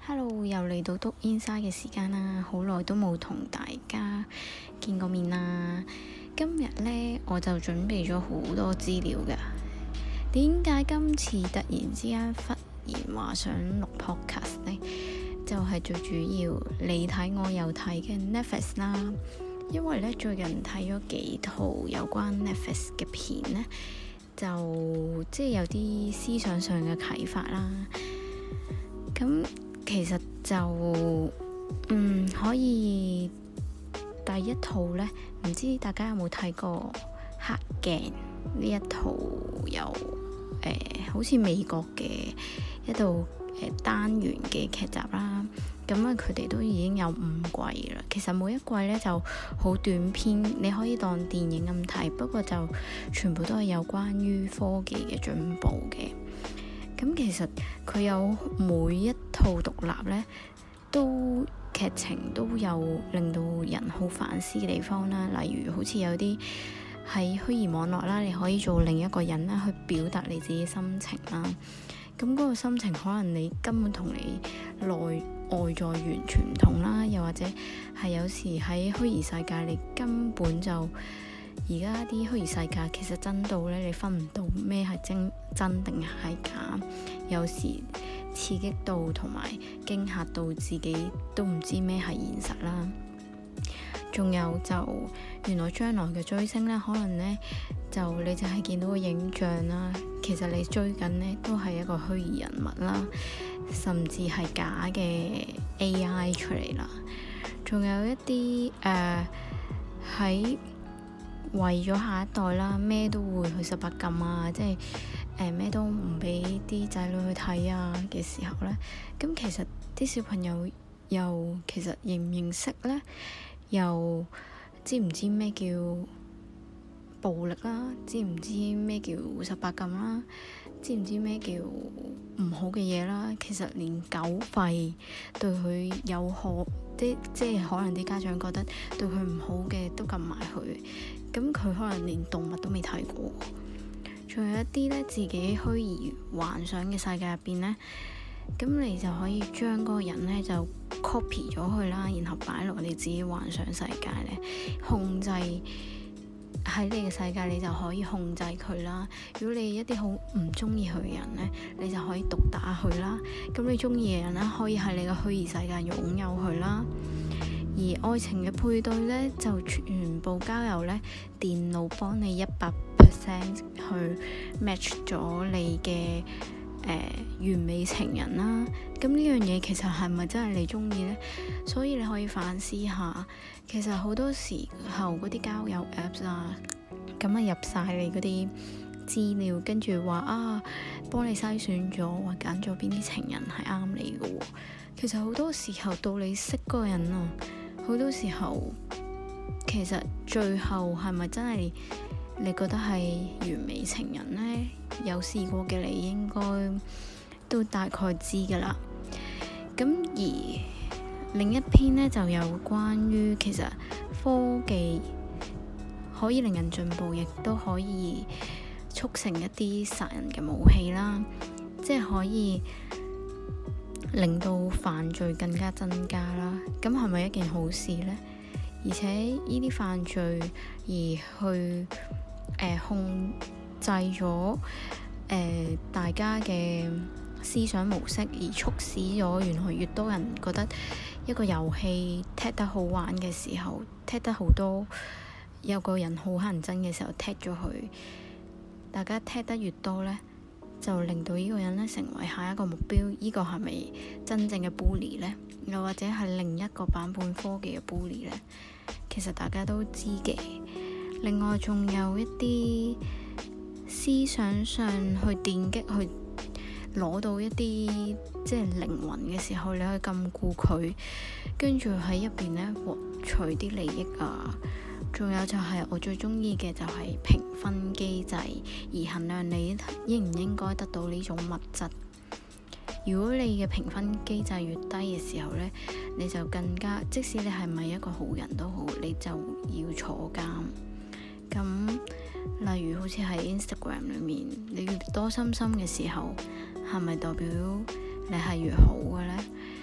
Hello，又嚟到篤 Inside 嘅時間啦，好耐都冇同大家見過面啦。今日呢，我就準備咗好多資料㗎。點解今次突然之間忽然話想錄 podcast 呢？就係最主要你睇我又睇嘅 Netflix 啦。因為呢，最近睇咗幾套有關 Netflix 嘅片呢，就即係有啲思想上嘅啟發啦。咁其實就可以第一套呢，唔知大家有冇睇過黑鏡呢一套有好似美國嘅一套單元嘅劇集啦。咁啊，佢哋都已經有5季啦。其實每一季呢就好短篇，你可以當電影咁睇，不過就全部都係有關於科技嘅進步嘅。咁其實佢有每一套獨立呢，都劇情都有令到人好反思嘅地方啦。例如好似有啲喺虛擬網絡啦，你可以做另一個人啦，去表達你自己心情啦。咁嗰個心情可能你根本同你外在完全唔同啦，又或者係有時喺虛擬世界你根本就而家啲虛擬世界其實真到咧，你分唔到咩係真定係假，有時刺激到同埋驚嚇到自己都唔知咩係現實啦。仲有就原來將來嘅追星咧，可能咧就你就係見到個影像啦，其實你追緊咧都係一個虛擬人物啦，甚至係假嘅 AI 出嚟啦。仲有一啲喺為咗下一代啦，咩都會去18禁啊，即係咩都唔俾啲仔女去睇啊嘅時候呢。咁其實啲小朋友又其實認唔認識呢？又知唔知咩叫暴力啦？知唔知咩叫18禁啦？知唔知咩叫唔好嘅嘢啦？其實連狗吠對佢有害，即係可能啲家長覺得對佢唔好嘅都撳埋佢。咁佢可能連動物都未睇過。仲有一啲呢，自己虛擬幻想嘅世界入邊呢，咁你就可以將嗰個人呢就 copy 咗佢啦，然後擺落你自己幻想世界呢，控制喺你嘅世界，你就可以控制佢啦。如果你一啲好唔中意佢嘅人呢，你就可以毒打佢啦。咁你中意嘅人呢，可以喺你嘅虛擬世界擁有佢啦。而愛情嘅配對呢，就全部交由呢電腦幫你100% 去 match 咗你嘅完美情人啦。咁呢樣嘢其實係咪真係你中意呢？所以你可以反思下，其實好多時候嗰啲交友 apps 啊，咁啊入晒你嗰啲資料，跟住話啊幫你篩選咗，話揀咗邊啲情人係啱你嘅喎。其實好多時候到你識嗰個人啊，好多時候其實最後係咪真係你覺得係完美情人呢？有試過嘅你應該都大概知㗎啦。咁而另一篇呢，就有關於其實科技可以令人進步，亦都可以促成一啲殺人嘅武器啦，即係可以令到犯罪更加增加啦。咁係咪一件好事呢？而且呢啲犯罪而去控制咗大家嘅思想模式，而促使咗原來越多人覺得一個遊戲踢得好玩嘅時候，踢得好多，有個人好乞人憎嘅時候踢咗佢，大家踢得越多呢，就令到呢個人呢成為下一個目標。呢個係咪真正嘅 bully 呢？又或者係另一個版本科技嘅 bully 呢？其實大家都知嘅。另外仲有一啲思想上去電擊，去攞到一啲即係靈魂嘅時候，你可以禁錮佢，跟住喺入邊呢獲取啲利益啊。仲有就係我最中意嘅就係評分機制，而衡量你應唔應該得到呢種物質。如果你嘅評分機制越低嘅時候呢，你就更加，即使你係咪一個好人都好，你就要坐監。咁例如好似喺 Instagram 裏面，你越多心心嘅時候，係咪代表你係越好嘅呢？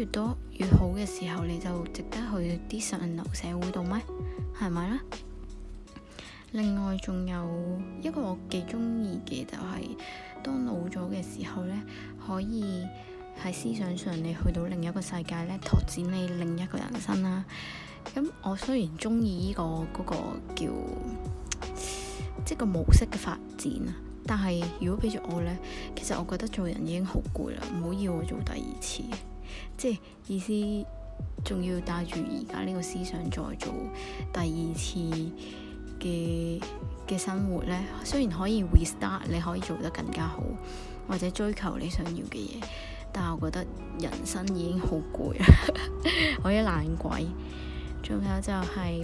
越多越好嘅時候，你就值得去啲上流社會度咩？係咪呢？另外仲有一個我幾中意嘅就係，當老咗嘅時候呢，可以喺思想上你去到另一個世界呢，拓展你另一個人生啦。咁我雖然中意呢個嗰個叫即係個模式嘅發展啊，但係如果俾住我呢，其實我覺得做人已經好攰啦，唔好要我做第二次，即係意思仲要帶住而家呢個思想再做第二次嘅生活呢。雖然可以 restart， 你可以做得更加好，或者追求你想要嘅嘢，但係我覺得人生已經好攰啦，我一懶鬼。仲有就係，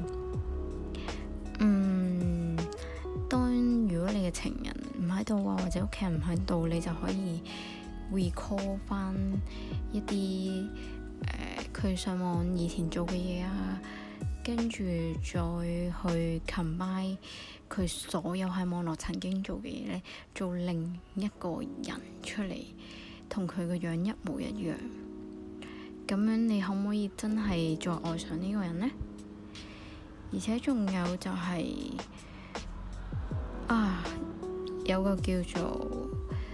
當如果你嘅情人唔喺度啊，或者屋企人唔喺度，你就可以 recall 翻一啲佢上網以前做嘅嘢啊，跟住再去 combine 佢所有喺網絡曾經做嘅嘢咧，做另一個人出嚟，同佢個樣一模一樣。咁樣你可唔可以真係再愛上呢個人呢？而且仲有就係有個叫做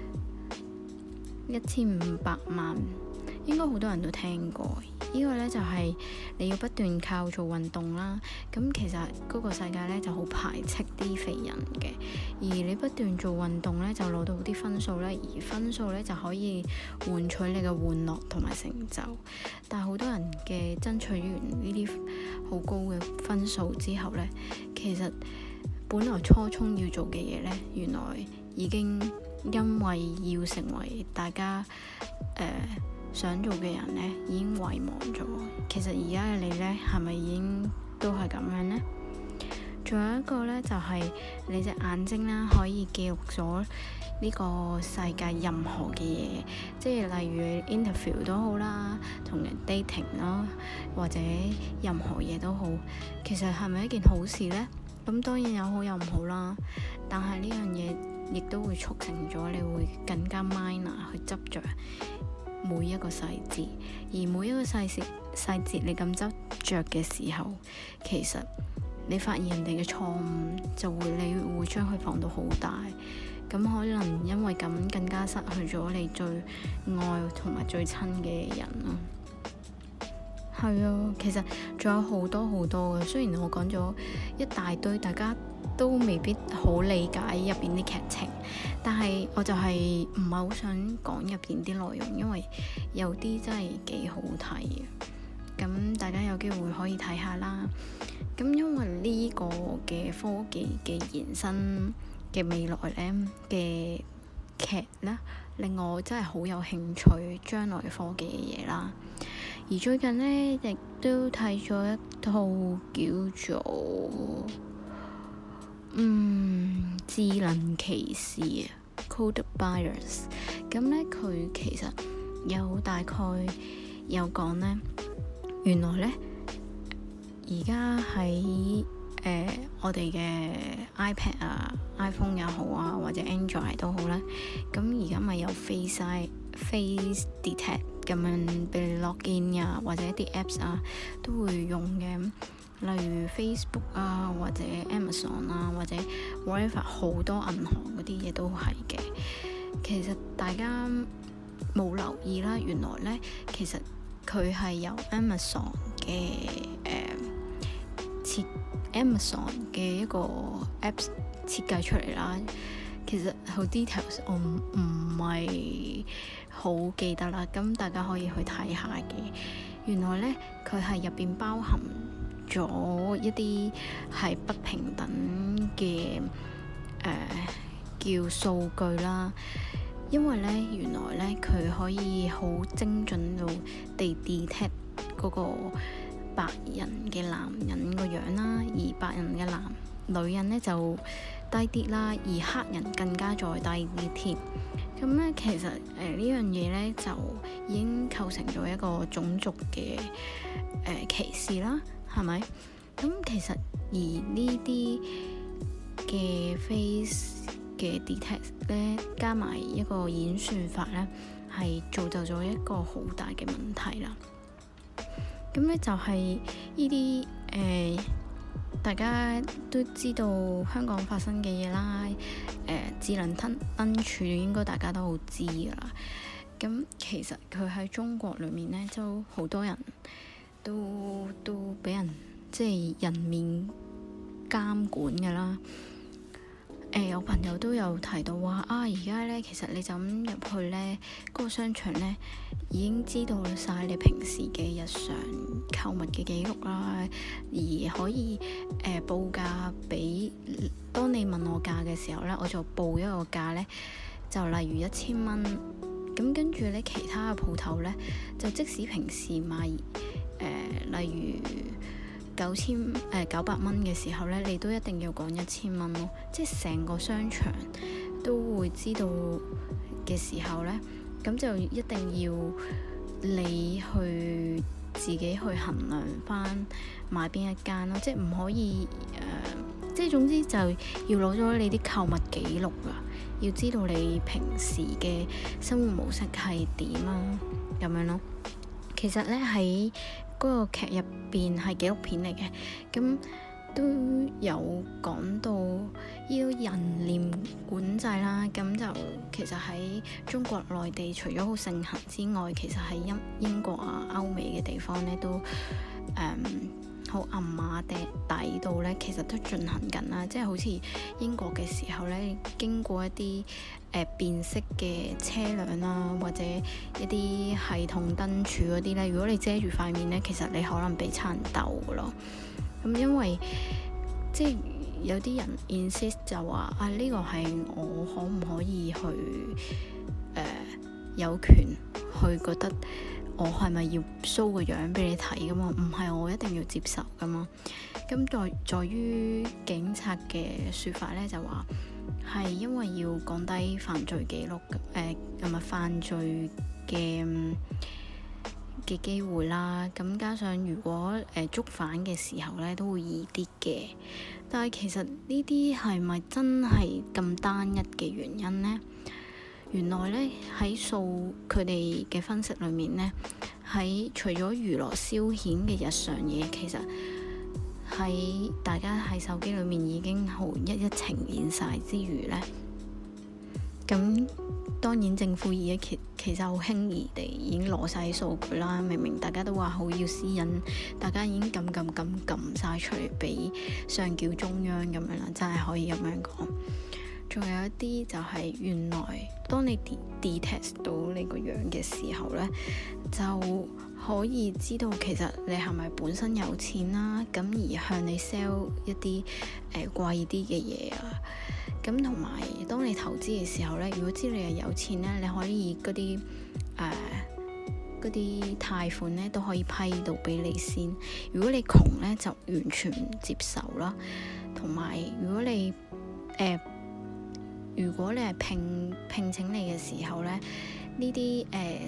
1500萬，應該好多人都聽過。呢個呢就係你要不斷靠做運動啦。咁其實嗰個世界呢就好排斥啲肥人嘅，而你不斷做運動呢，就攞到啲分數呢，而分數呢就可以換取你嘅玩樂同埋成就。但係好多人嘅爭取完呢啲好高嘅分數之後呢，其實本來初衷要做嘅嘢呢，原來已經因為要成為大家想做嘅人呢，已經遺忘咗。其實而家嘅你呢，係咪已經都係咁樣呢？仲有一個呢，就係你隻眼睛啦，可以記錄咗呢個世界任何嘅嘢，即係例如 interview 都好啦，同人 dating 啦，或者任何嘢都好。其實係咪一件好事呢？咁當然有好有唔好啦，但係呢樣嘢亦都會促成咗你會更加 minor 去執着每一個細節，而每一個細節你咁執着嘅時候，其實你發現人哋嘅錯誤，你會將佢放到好大，咁可能因為咁更加失去咗你最愛同埋最親嘅人咯。係啊，其實仲有好多好多嘅，雖然我講咗一大堆，大家都未必好理解入邊啲劇情，但係我就係唔係好想講入邊啲內容，因為有啲真係幾好睇嘅。咁大家有機會可以睇下啦。咁因為呢個嘅科技嘅延伸嘅未來呢嘅劇呢，令我真係好有興趣將來科技嘅嘢啦。而最近呢，亦都睇咗一套叫做智能騎士啊 Code Bias。咁呢，佢其實有大概有講呢，原來呢，而家喺我哋嘅 iPad 啊 iPhone 又好啊，或者 Android 都好啦，咁而家咪有 Face Detect 咁樣俾你 login 啊，或者啲 apps 啊都會用嘅，例如 Facebook 啊，或者 Amazon 啊，或者 whatever 好多銀行嗰啲嘢都係嘅。其實大家冇留意啦，原來呢，其實佢係由 Amazon 嘅一個 apps 設計出嚟啦。其實好 details 我唔係好記得啦，咁大家可以去睇下嘅。原來呢，佢係入邊包含咗一啲係不平等嘅叫數據啦。因為呢，原來呢，佢可以好精準到地 detect 嗰個白人嘅男人個樣啦，而白人嘅女人呢就低啲啦，而黑人更加再低啲添。咁呢，其實呢樣嘢呢就已經構成咗一個種族嘅歧視啦，係咪？咁其實而呢啲嘅 face 嘅 detect 呢，加埋一個演算法呢，係造就咗一個好大嘅問題啦。 咁咧就係呢啲大家都知道香港發生嘅嘢啦。智能燈柱應該大家都好知㗎啦。咁其實佢喺中國裏面咧，都好多人都俾人即係人面監管㗎啦。我朋友都有提到話而家咧其實你就咁入去咧，嗰個商場咧已經知道晒你平時嘅日常購物嘅記錄啦，而可以報價俾，當你問我價嘅時候咧，我就報一個價咧，就例如1000蚊，咁跟住咧其他嘅鋪頭咧就即使平時賣例如900蚊嘅時候咧，你都一定要講1000蚊咯，即係成個商場都會知道嘅時候咧，咁就一定要你去自己去衡量翻買邊一間咯，即係唔可以即係總之就要攞咗你啲購物記錄啊，要知道你平時嘅生活模式係點啊，咁樣咯。其實咧喺嗰個劇入邊係紀錄片嚟嘅，咁都有講到要人臉管制啦。咁就其實喺中國內地除咗好盛行之外，其實喺英國啊、歐美嘅地方咧都好暗碼底度咧，其實都進行緊啦。即係好似英國嘅時候咧，經過一啲辨識嘅車輛啦，或者一啲系統燈柱嗰啲咧，如果你遮住塊面咧，其實你可能被差人鬥㗎咯。咁因為即係有啲人 insist 就話呢個係我可唔可以去有權去覺得我係咪要 show 個樣俾你睇噶嘛？唔係我一定要接受噶嘛？咁在於警察嘅說法咧，就話係因為要降低犯罪記錄同埋犯罪嘅機會啦。咁加上如果捉犯嘅時候咧，都會易啲嘅。但係其實呢啲係咪真係咁單一嘅原因呢？原來咧喺佢哋嘅分析裏面咧，喺除咗娛樂消遣嘅日常嘢，其實喺大家喺手機裏面已經好一一呈現晒之餘咧，咁當然政府而家其實好輕易地已經攞晒數據啦。明明大家都話好要私隱，大家已經撳晒出嚟俾上繳中央咁樣啦，真係可以咁樣講。仲有一啲就係原來當你 detect 到你個樣嘅時候咧，就可以知道其實你係咪本身有錢啦，咁而向你 sell 一啲貴啲嘅嘢啊。咁同埋當你投資嘅時候咧，如果知你係有錢咧，你可以嗰啲貸款咧都可以批到俾你先。如果你窮咧，就完全唔接受啦。同埋如果你係聘請你嘅時候咧，呢啲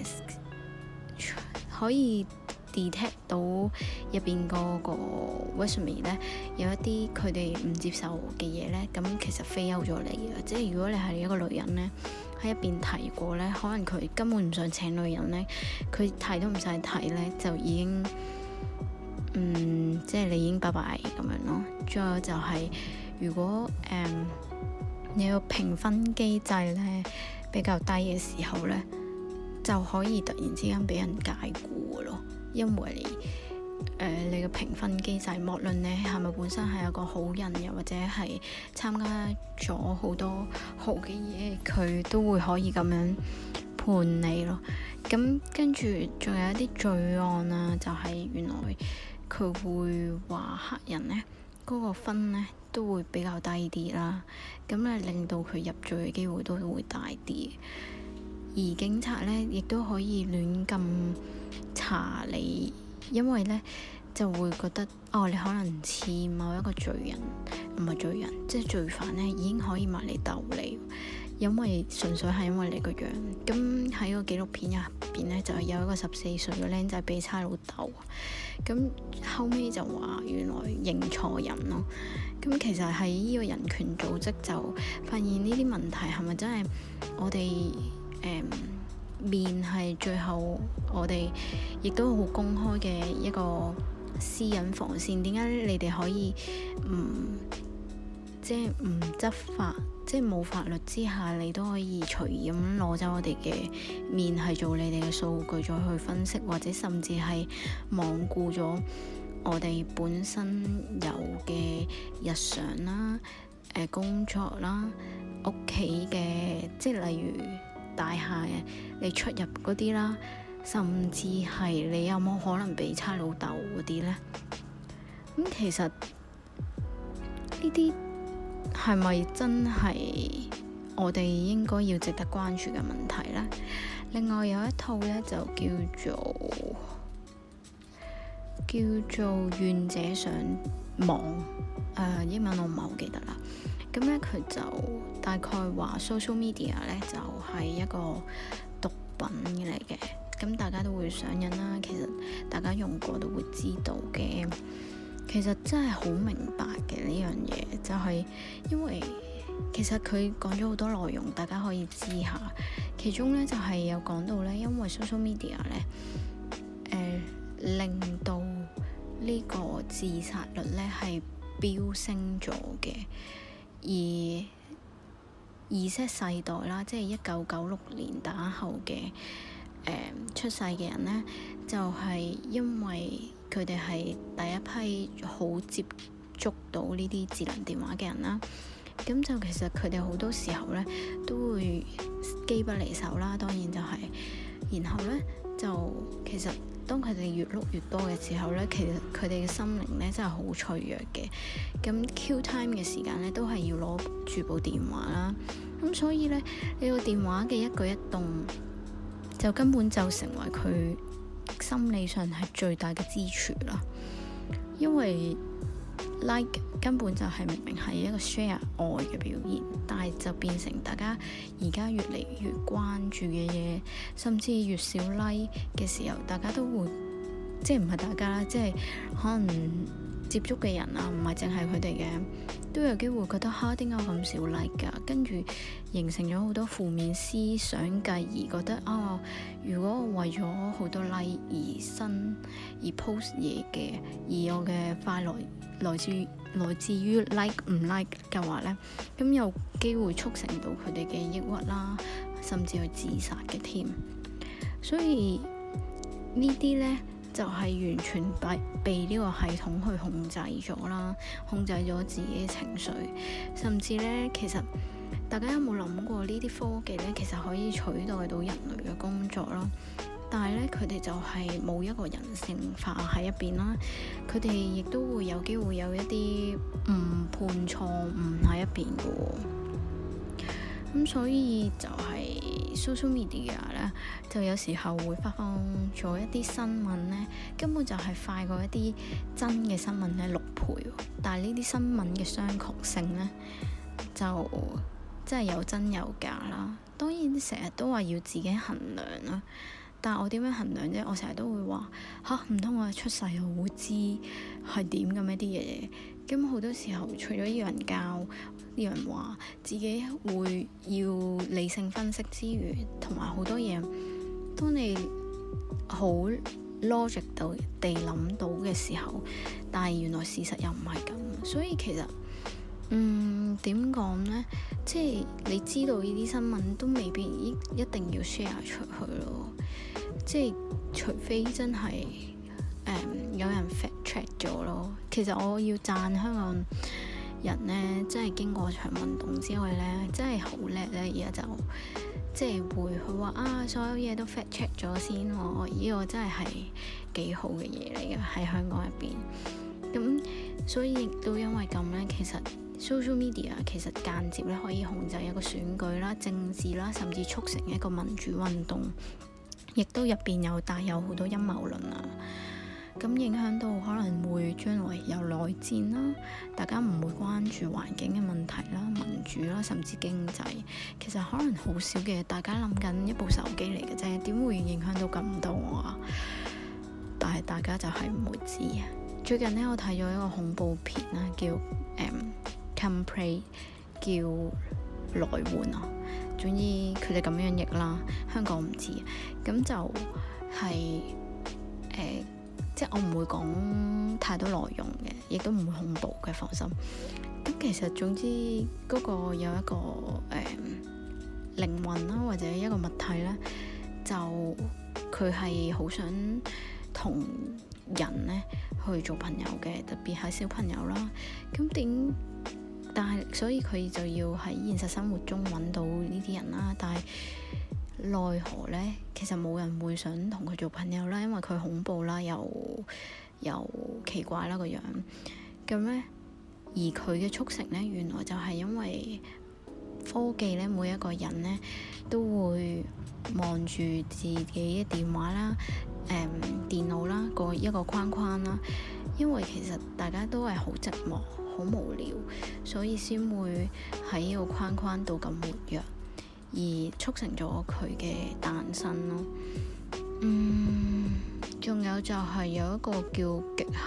可以 detect 到入邊個 resume 咧，有一啲佢哋唔接受嘅嘢咧，咁其實 fail 咗你嘅。即係如果你係一個女人咧，喺入邊提過咧，可能佢根本唔想請女人咧，佢睇都唔使睇咧，就已經即係你已經拜拜咁樣咯。仲有就係如果你個評分機制咧比較低嘅時候咧，就可以突然之間俾人解僱嘅咯。因為你嘅評分機制，無論你係咪本身係一個好人，又或者係參加咗好多好嘅嘢，佢都會可以咁樣判你咯。咁跟住仲有一啲罪案啊，就係原來佢會話黑人咧嗰個分咧都會比較低啲啦，咁咧令到佢入罪嘅機會都會大啲。而警察咧亦都可以亂咁查你，因為咧就會覺得你可能似某一個罪人，唔係罪人，即係罪犯咧，已經可以埋嚟鬥你，因為純粹係因為你個樣。咁喺個紀錄片入邊咧，就係有一個14歲嘅僆仔俾差佬鬥，咁後尾就話原來認錯人咯。咁其實喺呢個人權組織就發現呢啲問題係咪真係我哋面係最後我哋亦都好公開嘅一個私隱防線。點解你哋可以即係唔執法，即係冇法律之下，你都可以隨意咁攞走我哋嘅面，係做你哋嘅數據再去分析，或者甚至係罔顧咗我哋本身有嘅日常啦、工作啦、屋企嘅，即係例如大廈你出入嗰啲啦，甚至係你有冇可能俾差老豆嗰啲呢？咁其實呢啲係咪真係我哋應該要值得關注嘅問題呢？另外有一套呢，就叫做願者上網，英文我唔係好記得啦。咁咧佢就大概話 social media 咧就係一個毒品嚟嘅，咁大家都會上癮啦。其實大家用過都會知道嘅。其實真係好明白嘅呢樣嘢，就係因為其實佢講咗好多內容，大家可以知下。其中咧就係有講到咧，因為 social media 咧，令到呢個自殺率咧係飆升咗嘅。而Z世代啦，即係1996年打後嘅出世嘅人呢，就係因為佢哋係第一批好接觸到呢啲智能電話嘅人啦。咁就其實佢哋好多時候呢都會機不離手啦，當然就係，然後呢，就其實當佢哋越碌越多嘅時候呢，其實佢哋嘅心靈呢真係好脆弱嘅。咁 Q time 嘅時間呢，都係要攞住部電話啦。咁所以呢，你個電話嘅一舉一動就根本就成為佢心理上係最大嘅支柱啦。因為 like 根本就係明明係一個 share 愛嘅表現，但係就變成大家而家越嚟越關注嘅嘢，甚至越少 like 嘅時候，大家都會即係唔係大家啦，即係可能接觸嘅人啊，唔係淨係佢哋嘅，都有機會覺得嚇，點解咁少 like 㗎？跟住形成咗好多負面思想，繼而覺得如果我為咗好多 like 而 post 嘢嘅，而我嘅快樂來自於 like 唔 like 嘅話呢，咁有機會促成到佢哋嘅抑鬱啦，甚至去自殺嘅添。所以呢啲呢，就係完全被呢個系統去控制咗啦，控制咗自己嘅情緒，甚至呢，其實大家有冇諗過呢啲科技呢，其實可以取代到人類嘅工作咯。但係咧，佢哋就係冇一個人性化喺入邊啦。佢哋亦都會有機會有一啲誤判錯誤喺入邊嘅喎。咁所以就係 social media 咧，就有時候會發放咗一啲新聞咧，根本就係快過一啲真嘅新聞咧6倍。但係呢啲新聞嘅商榷性咧，就真係有真有假啦。當然成日都話要自己衡量啦。但係我點樣衡量啫？我成日都會話唔通我出世我會知係點咁一啲嘢。咁好多時候，除咗要人教、要人話，自己會要理性分析之餘，同埋好多嘢，當你好 logic 到地諗到嘅時候，但係原來事實又唔係咁，所以其實點講呢？即係你知道呢啲新聞都未必一定要 share 出去咯。即係除非真係有人 fact check 咗咯。其實我要讚香港人呢，真係經過場運動之外呢，真係好叻呢。而家就即係會佢話所有嘢都 fact check 咗先喎。呢個真係幾好嘅嘢嚟嘅喺香港入邊。咁所以亦都因為咁呢，其實 social media 其實間接咧可以控制一個選舉啦、政治啦，甚至促成一個民主運動。亦都入邊有帶有好多陰謀論啊，咁影響到可能會將來有內戰啦，大家唔會關注環境嘅問題啦、民主啦，甚至經濟。其實可能好少嘅，大家諗緊一部手機嚟嘅啫，點會影響到咁多啊？但係大家就係唔會知啊。最近呢，我睇咗一個恐怖片啦，叫Come Pray，叫來援啊。 總之佢哋咁樣譯啦，香港唔知，咁就係即係我唔會講太多內容嘅，亦都唔會恐怖嘅，放心。咁其實總之嗰個有一個靈魂啦，或者一個物體咧，就佢係好想同人咧去做朋友嘅，特別係小朋友啦。但係所以佢就要喺現實生活中揾到呢啲人啦。但係奈何咧，其實冇人會想同佢做朋友啦，因為佢恐怖啦，又奇怪啦個樣。咁咧，而佢嘅促成咧，原來就係因為科技咧，每一個人咧都會望住自己嘅電話啦、電腦啦，一個框框啦。因為其實大家都係好寂寞、好無聊，所以先會喺呢個框框度咁活躍，而促成咗佢嘅誕生咯。仲有就係有一個叫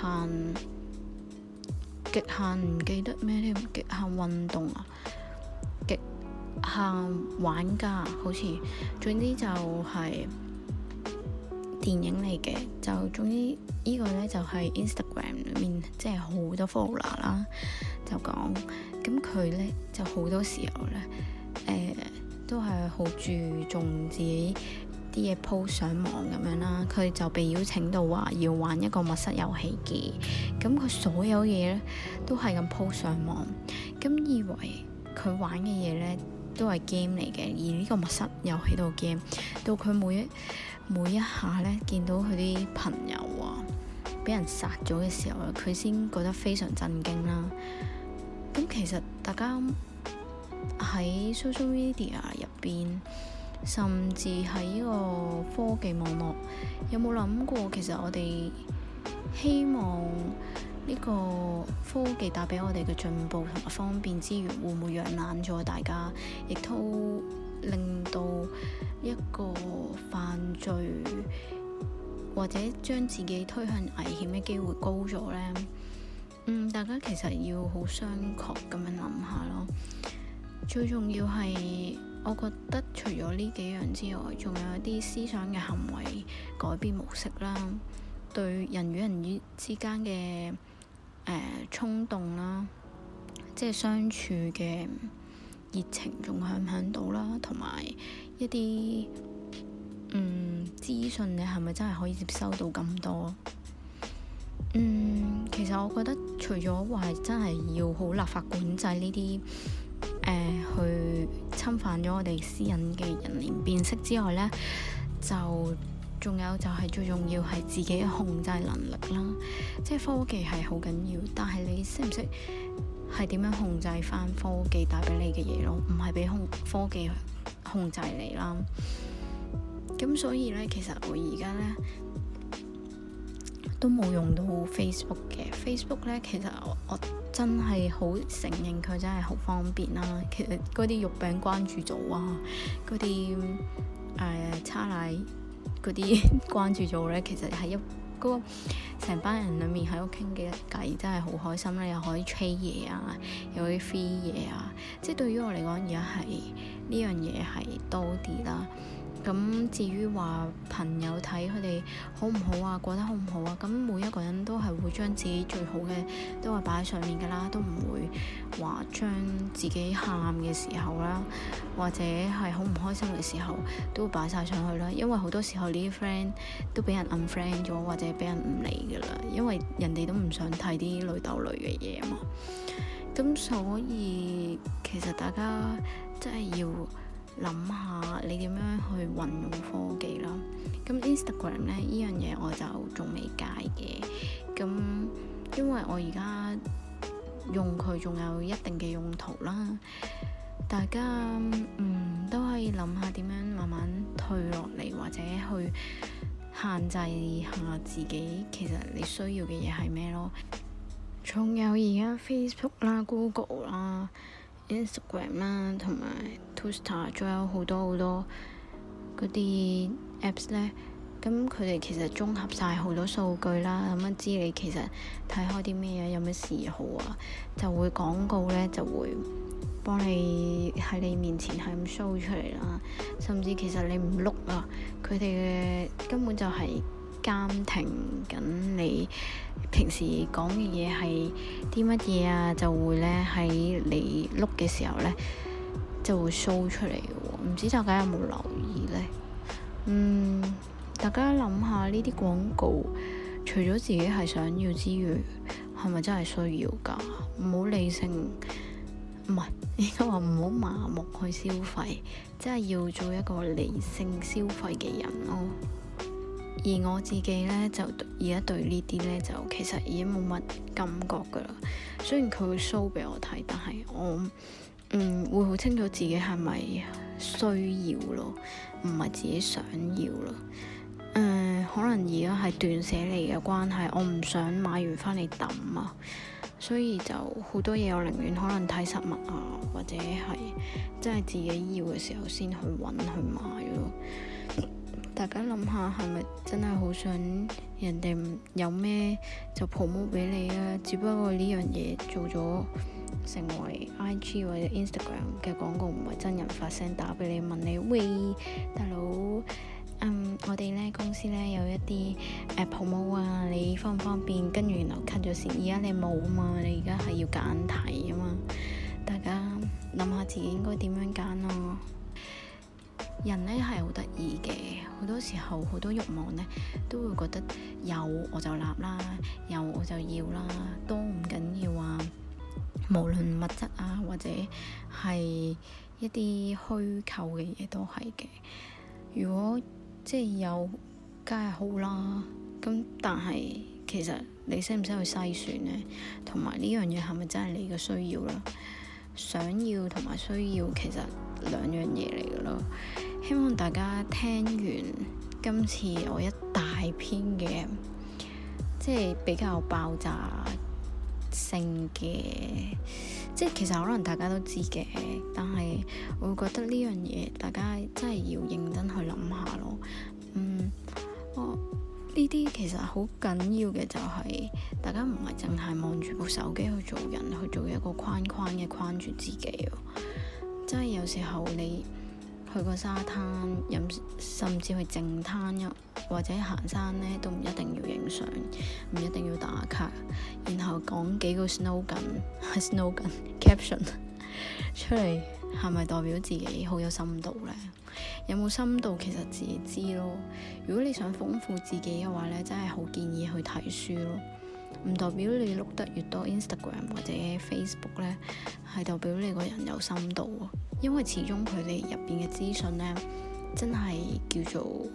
極限唔記得咩添，極限運動啊，極限玩家好似，總之就係電影嚟嘅。就總之呢個呢，就係 Instagram 裏面即係好多 follower 啦，就講咁佢呢，就好多時候呢，都係好注重自己啲嘢 post 上網咁樣啦。佢就被邀請到話要玩一個密室遊戲嘅，咁佢所有嘢呢，都係咁 post 上網，咁以為佢玩嘅嘢呢，都係 game 嚟嘅。而呢個密室遊戲度 game，到佢每一下呢，見到佢啲朋友啊俾人殺咗嘅時候啊，佢先覺得非常震驚啦。咁其實大家喺 social media 入邊，甚至喺呢個科技網絡，有冇諗過其實我哋希望呢個科技帶俾我哋嘅進步同埋方便之餘，會唔會養懶咗大家，亦都令到一個犯罪或者將自己推向危險嘅機會高咗呢？大家其實要好商榷咁樣諗下咯。最重要係，我覺得除咗呢幾樣之外，仲有一啲思想嘅行為改變模式啦，對人與人之間嘅衝動啦，即係相處嘅熱情仲響唔響到啦，同埋一啲資訊，你係咪真係可以接收到咁多？其實我覺得除咗話真係要好立法管制呢啲去侵犯咗我哋私隱嘅人臉辨識之外呢，就仲有就係最重要係自己嘅控制能力啦。即係科技係好緊要，但係你識唔識係點樣控制翻科技帶俾你嘅嘢咯？唔係俾科技控制你啦。咁所以呢，其實我而家呢都冇用到 Facebook 嘅。Facebook 呢，其實我真係好承認佢真係好方便啦。其實嗰啲肉餅關注組啊，嗰啲叉奶嗰啲關注組呢，其實係嗰個成班人裡面喺度傾嘅偈，真係好開心啦！又可以 trade 嘢啊，又可以 free 嘢啊。即係對於我嚟講，而家係呢樣嘢係多啲啦。咁至於話朋友睇佢哋好唔好啊，過得好唔好啊，咁每一個人都係會將自己最好嘅都係擺喺上面㗎啦，都唔會話將自己喊嘅時候啦，或者係好唔開心嘅時候都擺晒上去啦。因為好多時候呢啲 friend 都俾人 unfriend 咗，或者俾人唔理㗎啦，因為人哋都唔想睇啲淚鬥淚嘅嘢啊嘛。咁所以其實大家真係要諗下你點樣去運用科技啦。咁 Instagram 呢樣嘢我就仲未戒嘅，咁因為我而家用佢仲有一定嘅用途啦。大家都可以諗下點樣慢慢退落嚟，或者去限制下自己其實你需要嘅嘢係咩咯。仲有而家 Facebook 啦、Google 啦、Instagram 啦，同埋 Twitter， 仲有好多嗰啲 apps 咧。咁佢哋其實綜合晒好多數據啦，咁知你其實睇開啲咩啊，有咩嗜好啊，就會廣告咧就會幫你喺你面前係咁 show 出嚟啦，甚至其實你唔碌啊，佢哋嘅根本就係監聽緊你平時講嘅嘢係啲乜嘢啊，就會咧喺你碌嘅時候咧就會 show 出嚟嘅喎。唔知大家有冇留意咧？大家諗下呢啲廣告，除咗自己係想要之餘，係咪真係需要㗎？唔好理性，唔係應該話唔好麻木去消費，真係要做一個理性消費嘅人咯。而我自己咧就而家對呢啲咧就其實已經冇乜感覺㗎啦。雖然佢會 show 俾我睇，但係我會好清楚自己係咪需要咯，唔係自己想要咯。可能而家係斷捨離嘅關係，我唔想買完翻嚟抌啊，所以就好多嘢我寧願可能睇實物啊，或者係真係自己要嘅時候先去揾去買咯。大家諗下，係咪真係好想人哋有咩就 promote 俾你啊？只不過呢樣嘢做咗成為 IG 或者 Instagram 嘅廣告，唔係真人發聲打俾你問你，喂，大佬。我哋咧公司咧有一啲promo 啊，你方唔方便？跟住然後 cut 咗線，而家你冇啊嘛，你而家係要揀題啊嘛。大家諗下自己應該點樣揀咯。人咧係好得意嘅，好多時候好多慾望咧都會覺得有我就立啦，有我就要啦，多唔緊要啊。無論物質啊，或者係一啲虛構嘅嘢都係嘅。如果即係有，梗係好啦。咁但係其實你識唔識去篩選呢？同埋呢樣嘢係咪真係你嘅需要啦？想要同埋需要其實兩樣嘢嚟嘅咯。希望大家聽完今次我一大篇嘅，即係比較爆炸性嘅，即係其實可能大家都知嘅，但係我會覺得呢樣嘢大家真係要認真去諗下咯。呢啲其實好緊要嘅就係大家唔係淨係望住部手機去做人，去做一個框框嘅框住自己咯。真係有時候你去個沙灘飲，甚至去淨灘或者行山呢，都唔一定要影相，唔一定要打卡，然後講幾個 slogan caption 出嚟，係咪代表自己好有深度呢？有冇深度其實自己知咯。如果你想豐富自己嘅話呢，真係好建議去睇書咯。唔代表你碌得越多 Instagram 或者 Facebook 呢，係代表你個人有深度。因為始終佢哋入邊嘅資訊呢，真係叫做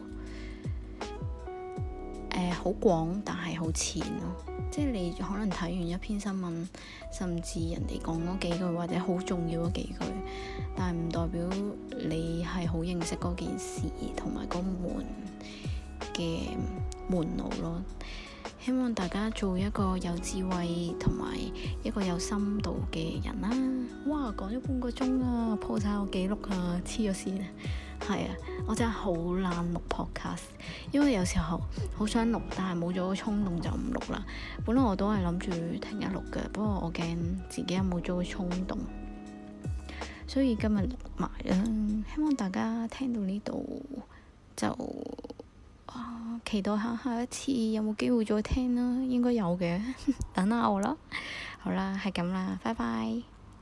好廣，但係好淺咯。即係你可能睇完一篇新聞，甚至人哋講嗰幾句或者好重要嗰幾句，但係唔代表你係好認識嗰件事同埋嗰門嘅門路咯。希望大家做一個有智慧同埋一個有深度嘅人啦。哇，講咗半個鐘啊，破晒我記錄啊，黐咗線啊！係啊，我真係好懶錄 podcast，因為有時候好想錄，但係冇咗個衝動就唔錄啦。本來我都係諗住聽日錄嘅，不過我驚自己有冇咗個衝動，所以今日錄埋啦。希望大家聽到呢度就期待下一次有冇機會再聽啦，應該有嘅。等下我啦，好啦，係咁啦，拜拜。